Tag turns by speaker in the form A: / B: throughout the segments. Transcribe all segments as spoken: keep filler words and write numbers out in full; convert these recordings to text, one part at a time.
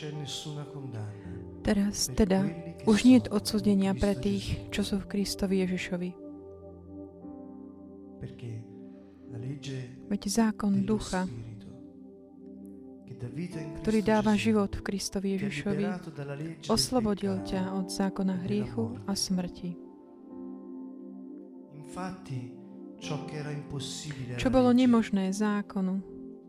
A: Teraz teda už nie je odsúdenia pre tých, čo sú v Kristovi Ježišovi. Veď zákon ducha, ktorý dáva život v Kristovi Ježišovi, oslobodil ťa od zákona hriechu a smrti. Čo bolo nemožné zákonu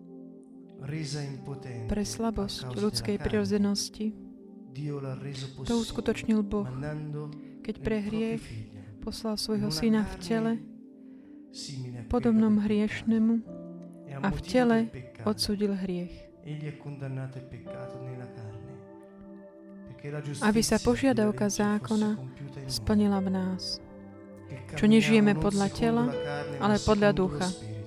A: pre slabosť ľudskej prirodzenosti, to uskutočnil Boh, keď pre hriech poslal svojho syna v tele, podobnom hriešnemu, a v tele odsúdil hriech. Aby sa požiadavka zákona splnila v nás, čo nežijeme podľa tela, ale podľa ducha.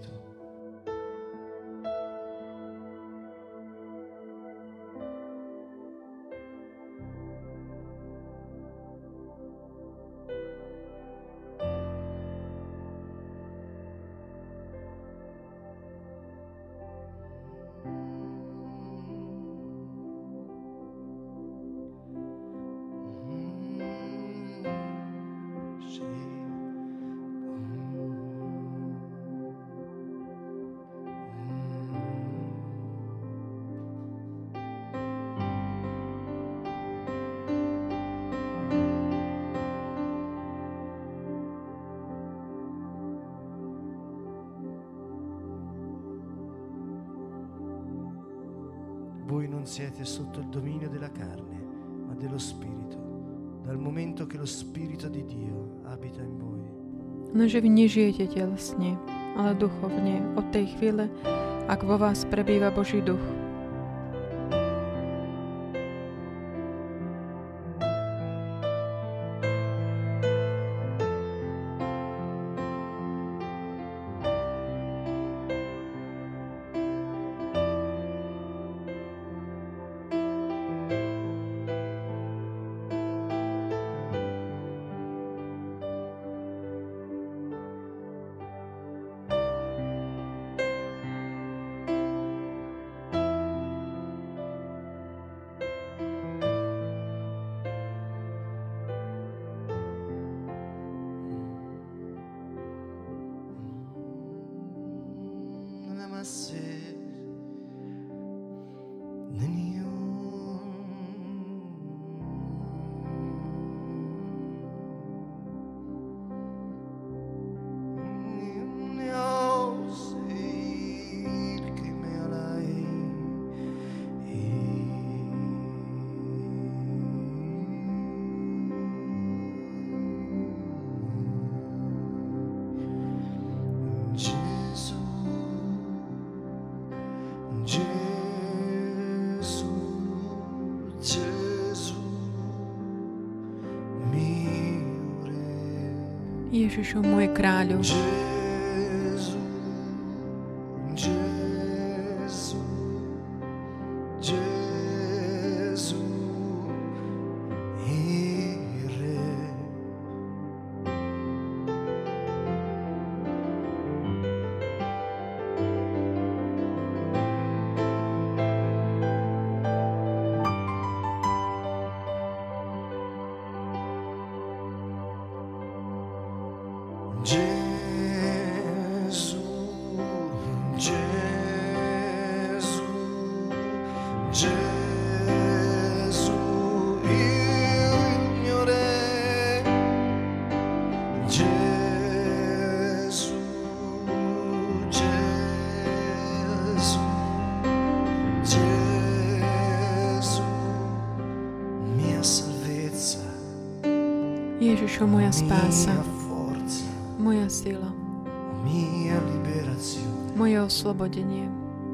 B: Voi non siete sotto il dominio della carne, ma dello Spirito, dal momento che lo Spirito di Dio abita in voi.
A: No, že vy nežijete telesne, ale duchovne, od tej chvíle, ak vo vás prebýva Boží duch. Ježišu, môj kráľu.
B: Gesù, Gesù, Gesù, il Re. Gesù, Gesù, Gesù, il mio Re. Gesù, Gesù, Gesù, mia salvezza,
A: Ježišu, moja spása,
B: mia forza,
A: moja sila,
B: mia liberazione.
A: moje oslobodenie.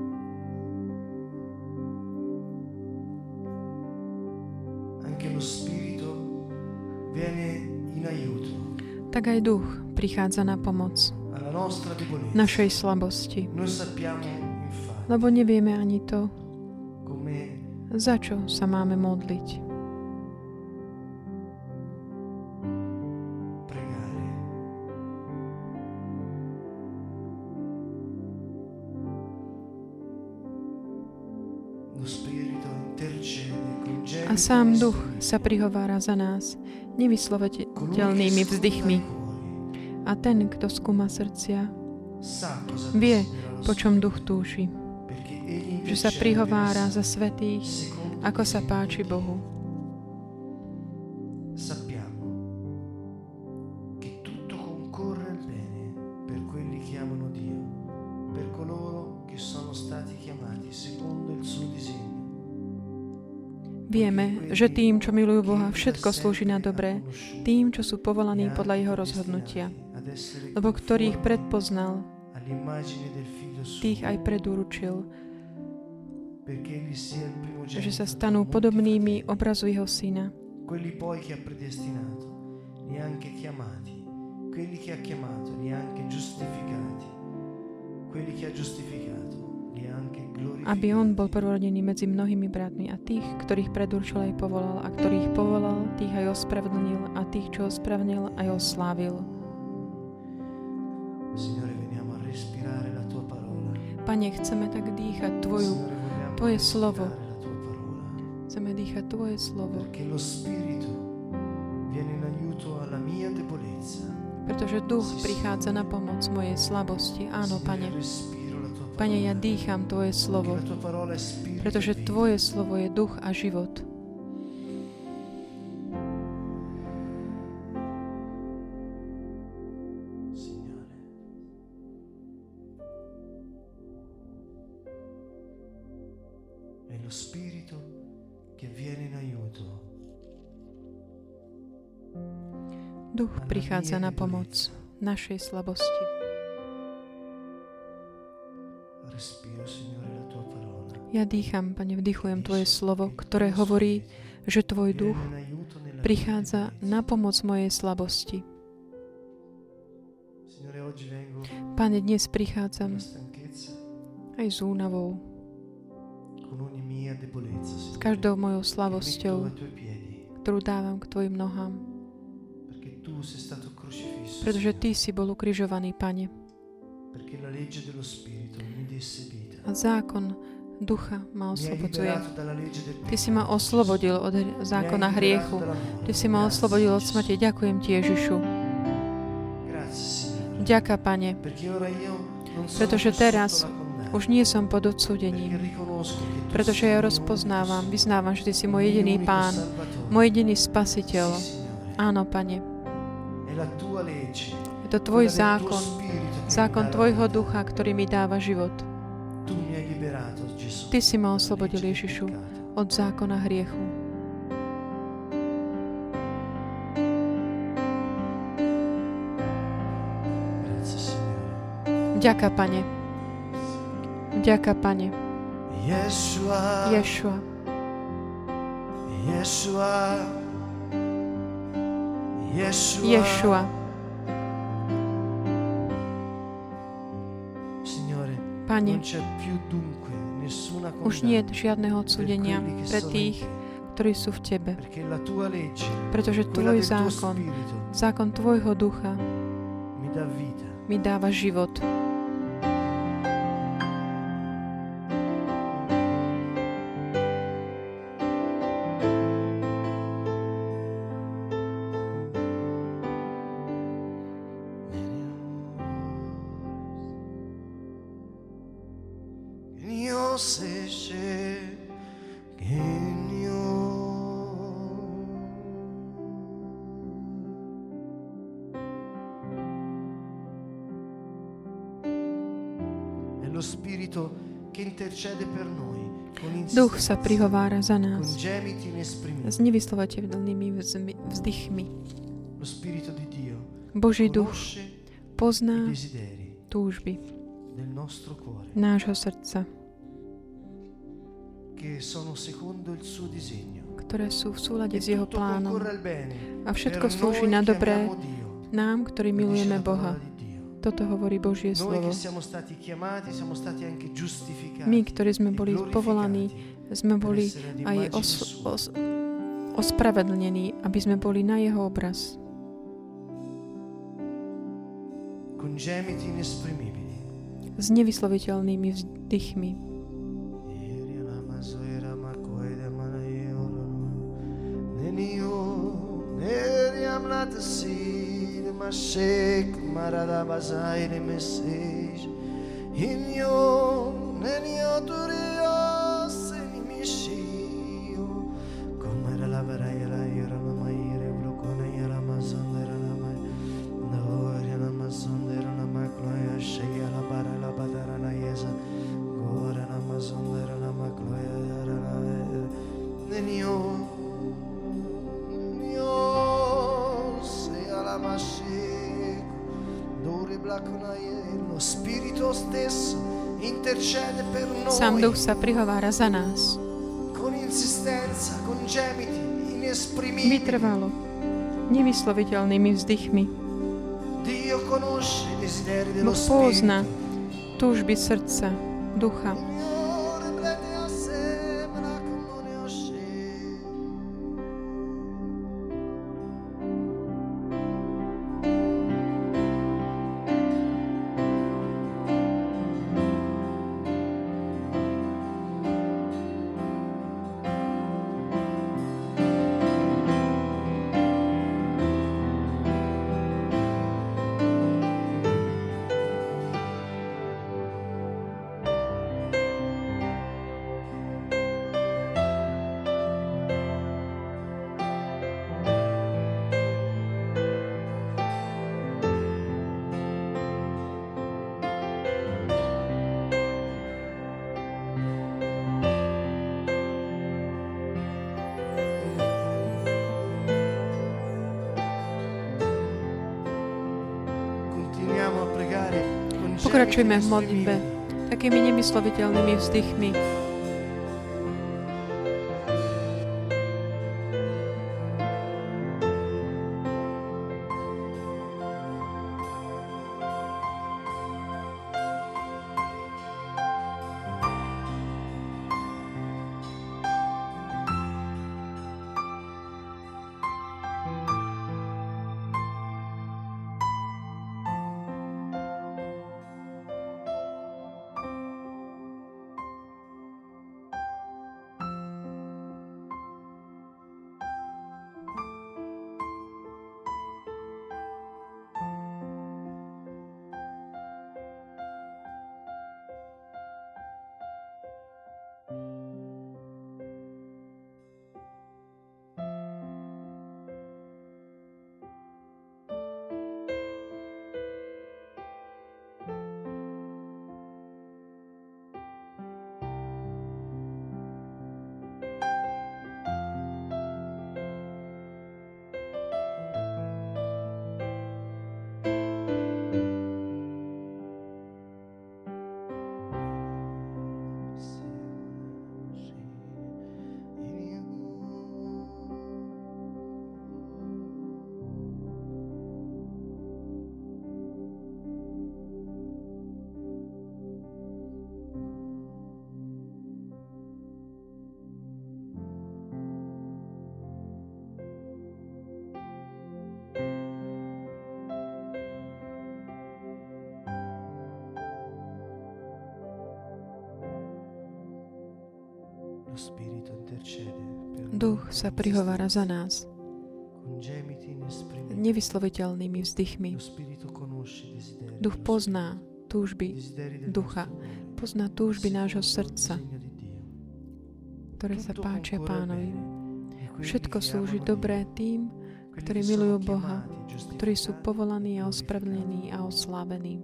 B: Anche lo Spirito viene in aiuto
A: Tak aj duch prichádza na pomoc
B: alla nostra debolezza.
A: našej slabosti.
B: Noi sappiamo infatti
A: Lebo nevieme ani to,
B: come
A: za čo sa máme modliť.
B: pregare. Lo Spirito intercede
A: sám duch sa prihovára za nás nevysloviteľnými vzdychmi. A ten, kto skúma srdcia, vie, po čom duch túži. Že sa prihovára za svätých, ako sa páči Bohu. Vieme, že tým, čo milujú Boha, všetko slúži na dobré, tým, čo sú povolaní podľa jeho rozhodnutia. Lebo ktorých predpoznal, tých aj predurčil, že sa stanú podobnými obrazu jeho syna. Quelli poi che ha predestinato, li ha anche chiamati. Quelli che ha chiamato, li ha anche giustificati. Quelli che ha giustificato, li ha anche glorificati. Aby on bol prvorodený medzi mnohými bratmi, a tých, ktorých predurčil, aj povolal, a ktorých povolal, tých aj ospravedlnil, a tých, čo ospravedlnil, aj oslávil. Signore, veniamo a respirare la tua parola. Pane, chceme tak dýchať tvoju Tvoje slovo. Chceme dýchať Tvoje slovo. Pretože duch prichádza na pomoc mojej slabosti. Áno, Pane. Pane, ja dýcham Tvoje slovo. Pretože Tvoje slovo je duch a život. Spirito che viene in aiuto. Duch prichádza na pomoc našej slabosti. Ja dýcham, Pane, vdychujem Tvoje slovo, ktoré hovorí, že Tvoj duch prichádza na pomoc mojej slabosti. Pane, dnes prichádzam aj s únavou, s každou mojou slabosťou, ktorú dávam k Tvojim nohám. Pretože Ty si bol ukrižovaný, Pane. A zákon ducha ma oslobodzuje. Ty si ma oslobodil od zákona hriechu. Ty si ma oslobodil od smrti. Ďakujem Ti, Ježišu. Ďaká, Pane. Pretože teraz už nie som pod odsúdením, pretože ja rozpoznávam, vyznávam, že Ty si môj jediný Pán, môj jediný Spasiteľ. Áno, Pane. Je to Tvoj zákon, zákon Tvojho ducha, ktorý mi dáva život. Ty si ma oslobodil, Ježišu, od zákona hriechu. Ďaká, Pane. Ďaká, Pane. Ješua. Ješua. Ješua. Ješua. Pane, už nie je žiadneho odsúdenia pre tých, ktorí sú v Tebe. Pretože Tvoj zákon, zákon Tvojho ducha mi dáva život. Duch sa prihovára za nás s nevyslovateľnými vzdychmi. Boží duch pozná túžby nášho srdca, ktoré sú v súlade s jeho plánom. A všetko slúži na dobré nám, ktorí milujeme Boha. Toto hovorí Božie slovo. My, ktorí sme boli povolaní, sme boli aj os- os- ospravedlnení, aby sme boli na jeho obraz. S nevysloviteľnými vzdychmi. Sám Duch sa prihovára za nás. Vytrvalo, nevysloviteľnými vzdychmi. Boh pozná túžby srdca, ducha. Pokračujeme v modlitbe takými nevysloviteľnými vzdychmi. Duch sa prihovára za nás nevysloviteľnými vzdychmi. Duch pozná túžby ducha, pozná túžby nášho srdca, ktoré sa páčia Pánovi. Všetko slúži dobré tým, ktorí milujú Boha, ktorí sú povolaní a ospravedlnení a oslávení.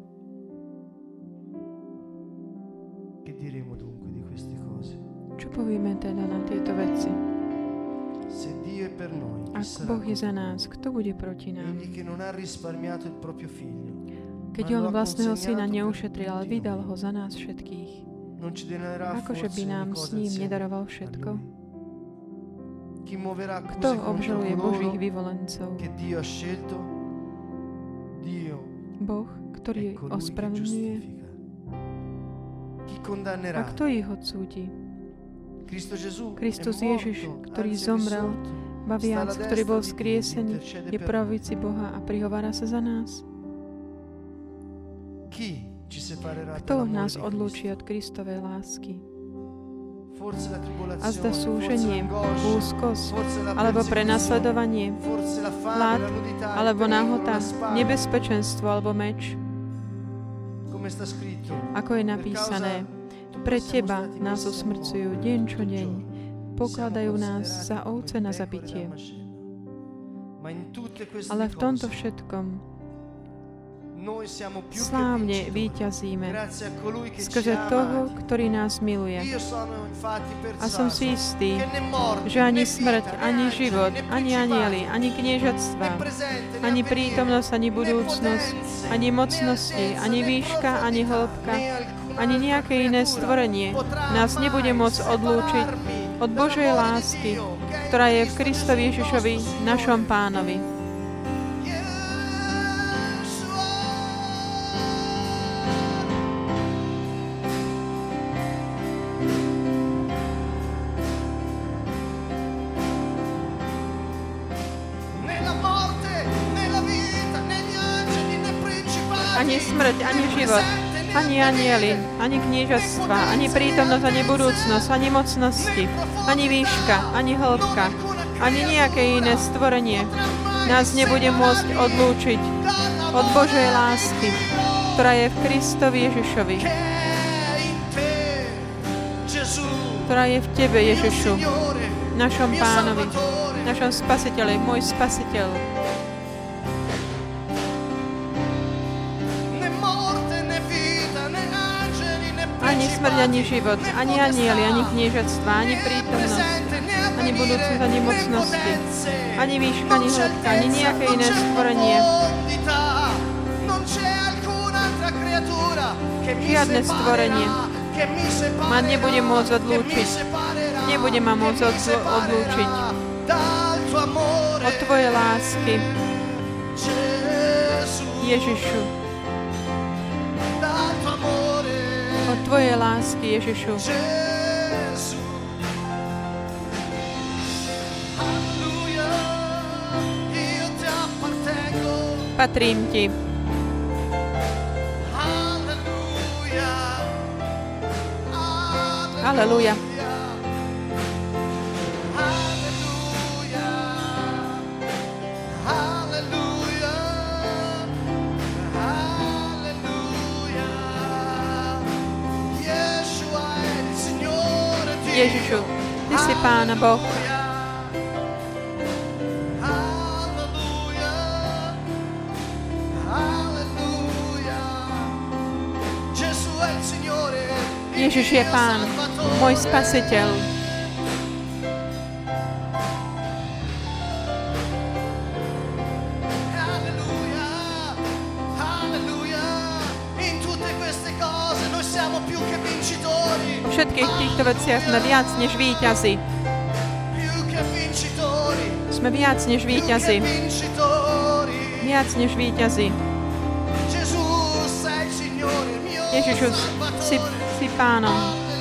A: Čo povieme teda na tieto veci? Ak Boh je za nás, kto bude proti nám? Keď on vlastného syna neušetril, ale vydal ho za nás všetkých, akože by nám s ním nedaroval všetko? Kto obžaluje Božích vyvolencov? Boh, ktorý ospravedlňuje. A kto ich odsúdi? Kristus Ježiš, ktorý zomrel, ba viac, ktorý bol vzkriesený, je pravici Boha a prihovára sa za nás. Kto nás odlúči od Kristovej lásky? A zda súženie, úzkosť, alebo prenasledovanie, hlad, alebo nahota, nebezpečenstvo alebo meč. Ako je napísané, pre teba nás usmrcujú deň čo deň, pokladajú nás za ovce na zabitie. Ale v tomto všetkom slávne víťazíme skrze toho, ktorý nás miluje. A som si istý, že ani smrť, ani život, ani anjeli, ani kniežatstva, ani prítomnosť, ani budúcnosť, ani mocnosti, ani výška, ani hĺbka, ani nejaké iné stvorenie nás nebude môcť odlúčiť od Božej lásky, ktorá je v Kristovi Ježišovi, našom Pánovi. Ani smrť, ani život, ani anjeli, ani kniežatstva, ani prítomnosť, ani budúcnosť, ani mocnosti, ani výška, ani hĺbka, ani nejaké iné stvorenie nás nebude môcť odlúčiť od Božej lásky, ktorá je v Kristovi Ježišovi, ktorá je v Tebe, Ježišu, našom Pánovi, našom Spasiteľi, môj Spasiteľ. Ani smrť, ani život, ani anjeli, ani kniežatstva, ani prítomnosť, ani budúcnosť, ani mocnosti, ani výška, ani hĺbka, ani nejaké iné stvorenie. Žiadne stvorenie ma nebude môcť odlúčiť. Nebude ma môcť odl- odlúčiť od Tvojej lásky, Ježišu. Od Tvojej lásky, Ježišu. Patrím Ti. Aleluja. Ježišu, Ty si Pána Boh. Ježiš je Pán, môj Spasiteľ. Vo všetkých týchto veciach sme viac než víťazi. Sme viac než víťazi. Viac než víťazi. Ježišu, si, si Pánom.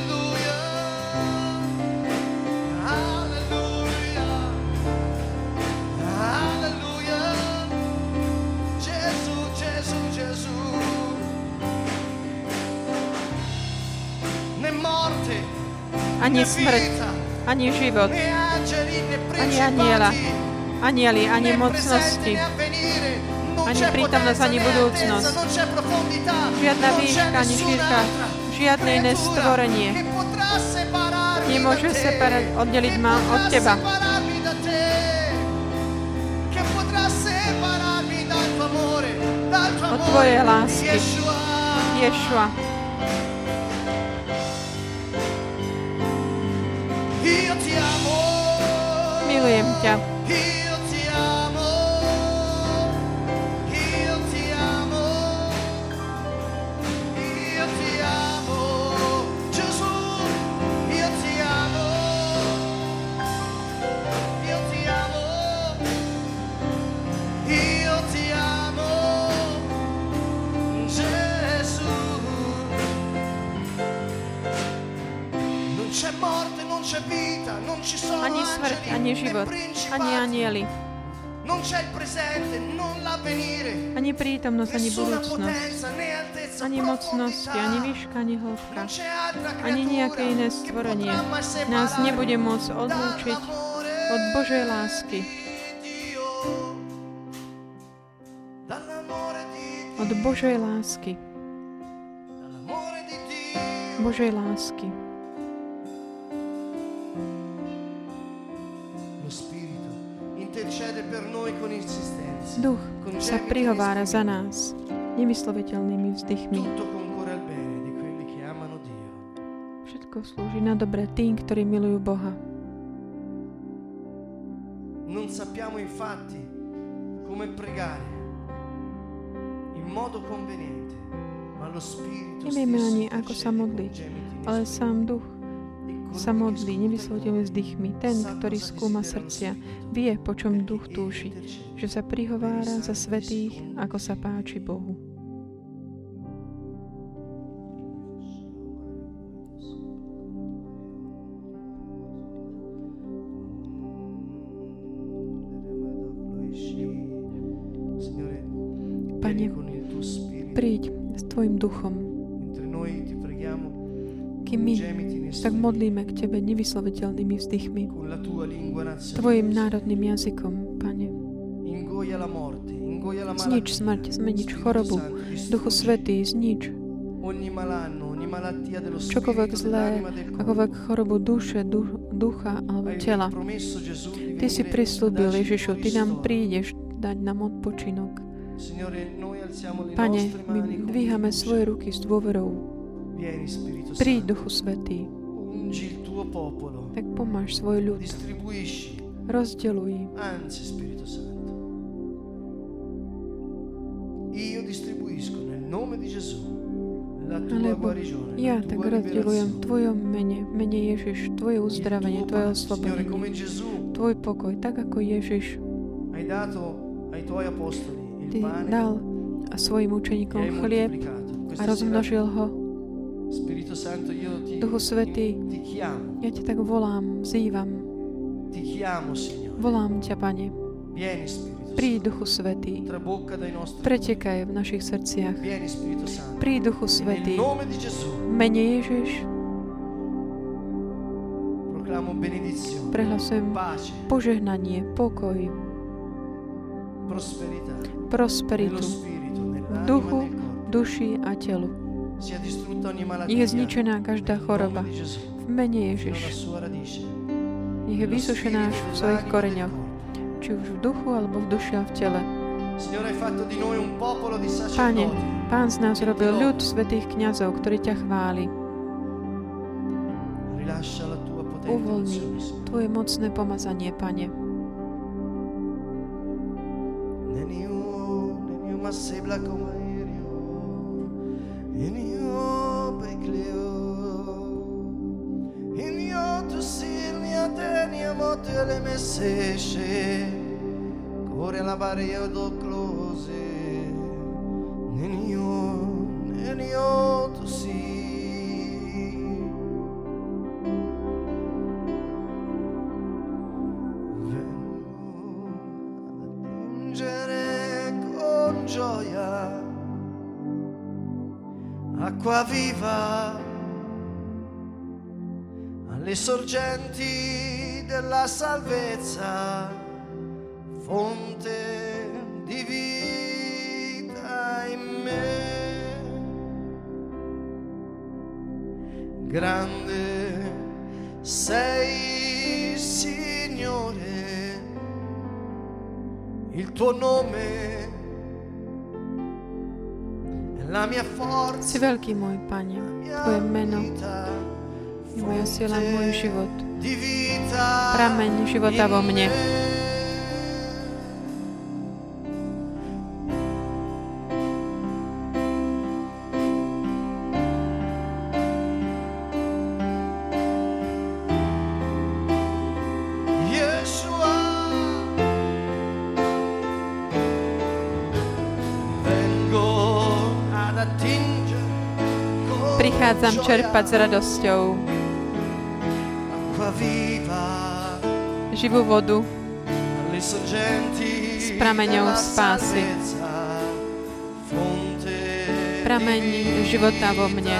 A: Ani smrť, ani život, ani aniela, anieli, ani mocnosti, ani prítomnosť, ani budúcnosť. Žiadna výška, ani šírka, žiadne iné stvorenie nemôže separať, oddeliť ma od Teba. Od Tvojej lásky, Ješua. Milujem ťa. Ani smrť, ani život, ani anjeli, ani prítomnosť, ani budúcnosť, ani mocnosti, ani výška, ani hĺbka, ani nejaké iné stvorenie nás nebude môcť odlúčiť od Božej lásky. od Božej lásky. Božej lásky. Duch sa prihovára za nás nevysloviteľnými vzdychmi. Všetko slúži na dobre tým, ktorí milujú Boha.
B: Non sappiamo infatti come pregare in modo conveniente, ma lo Spirito
A: Nevieme ani, ako sa modliť, ale sám Duch sa modlí nevysloviteľnými vzdychmi. Ten, ktorý skúma srdcia, vie, po čom Duch túži, že sa prihovára za svätých, ako sa páči Bohu. Pane, príď s Tvojim duchom, kým my tak modlíme k Tebe nevysloviteľnými vzdychmi, Tvojim národným jazykom, Pane. Znič smrť, zmenič chorobu, Duchu Svätý, znič čokoľvek zlé, akoľvek chorobu duše, ducha alebo tela. Ty si prislúbil, Ježišu, Ty nám prídeš dať nám odpočinok. Pane, my dvíhame svoje ruky s dôverou. Príď, Duchu Svätý. Tak pomáš svoj ľud. Rozdeľuj. Alebo ja tak rozdeľujem v Tvojom mene, v mene Ježiš, Tvoje uzdravenie, Tvoje oslobodenie, Tvoj pokoj, tak ako Ježiš Ty dal svojim učeníkom chlieb a rozmnožil ho. Duchu Svätý, ja ťa tak volám, vzývam. Volám ťa, Pane. Príď, Duchu Svätý. Pretekaj v našich srdciach. Príď, Duchu Svätý. V mene Ježiš prehlasujem požehnanie, pokoj, prosperitu v duchu, duši a telu. Nech je zničená každá choroba. V mene Ježiš. Nech je vysušená v svojich koreňoch. Či už v duchu, alebo v duši a v tele. Pane, Pán z nás robil ľud svätých kňazov, ktorí ťa chváli. Uvoľni Tvoje mocné pomazanie, Pane.
B: Ora la varia do close nenio nenio tu si vengo ad attingere con gioia acqua viva alle sorgenti della salvezza, fonte di vita in me. Grande sei, Signore, il tuo nome è la mia forza.
A: Si veľký, môj Pane, Tvoje meno je moja sila, môj život. Prameň života vo mne. Prichádzam čerpať s radosťou živú vodu s prameňou spásy. Prameň života vo mne.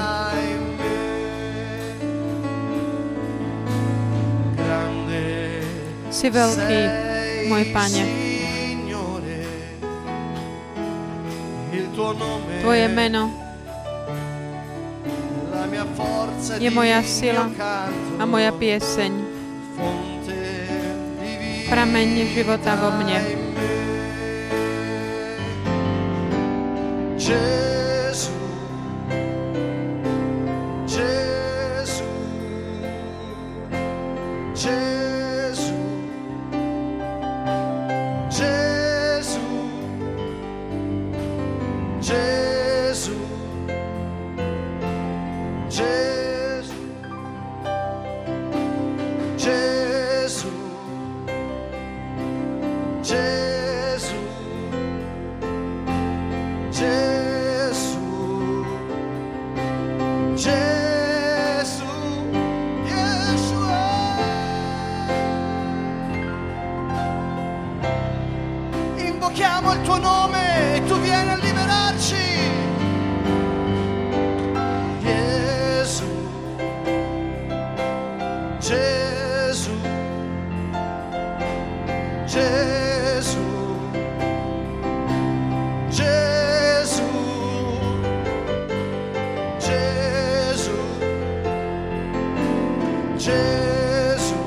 A: Si veľký, môj Pane. Tvoje meno je moja sila a moja pieseň. Prameň života vo mne.
B: Invochiamo il tuo nome e tu vieni a liberarci. Gesù, Gesù, Gesù, Gesù, Gesù, Gesù,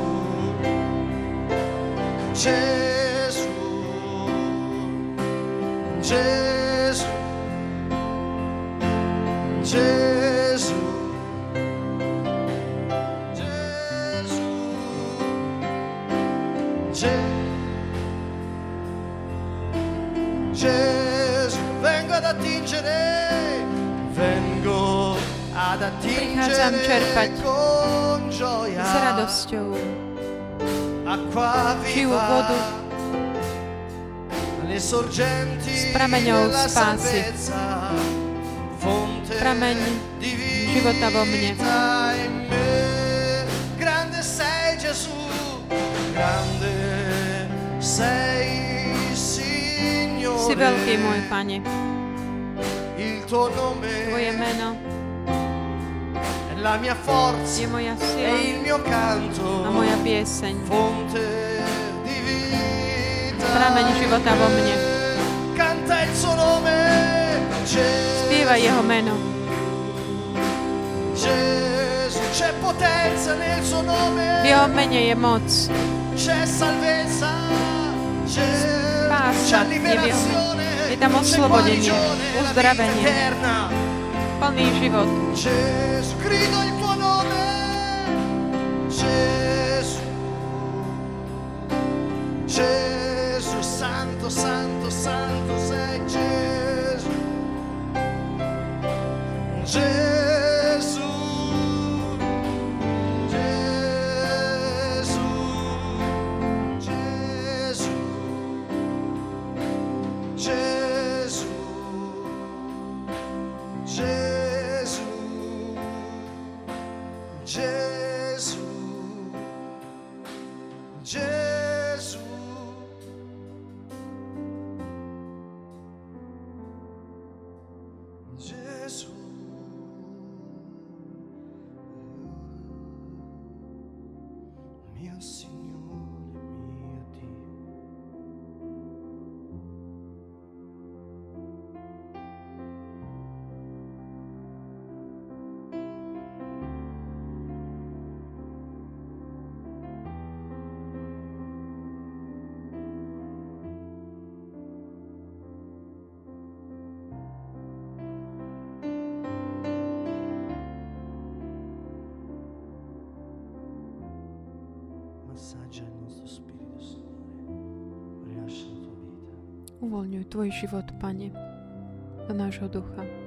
B: Gesù. Gesù, Gesù, Gesù, Gesù, vengo ad attingere, vengo ad attingere con gioia,
A: s radosťou,
B: acqua viva,
A: s prameňou spásy. Prameň života vo mne.
B: Grande sei Gesù, grande sei Signore.
A: Si veľký, môj Pane.
B: Il tuo nome
A: Tvoje meno
B: è la mia forza,
A: je moja
B: è
A: sila
B: il mio canto,
A: a moja pieseň.
B: fonte
A: Prameň života vo mne.
B: Canta il suo nome,
A: Spievaj jeho meno.
B: Gesù, c'è potenza nel suo nome,
A: V jeho mene je moc.
B: c'è salvezza, c'è,
A: Spása
B: c'è
A: je v jeho mene.
B: liberazione,
A: Je tam
B: c'è
A: oslobodenie,
B: guarigione, la vita
A: uzdravenie,
B: eterna.
A: plný život.
B: Gesù, grido il tuo nome, Gesù, Gesù, santo, santo, santo sei Gesù, Gesù, Gesù, Gesù, Gesù, Gesù, Gesù, Gesù. Gesù, mio Signore, mio Dio. Massaggia il nostro spirito, Signore. Rilascia la tua vita.
A: Uvoľňuj tvoj život, Pane, do nášho ducha.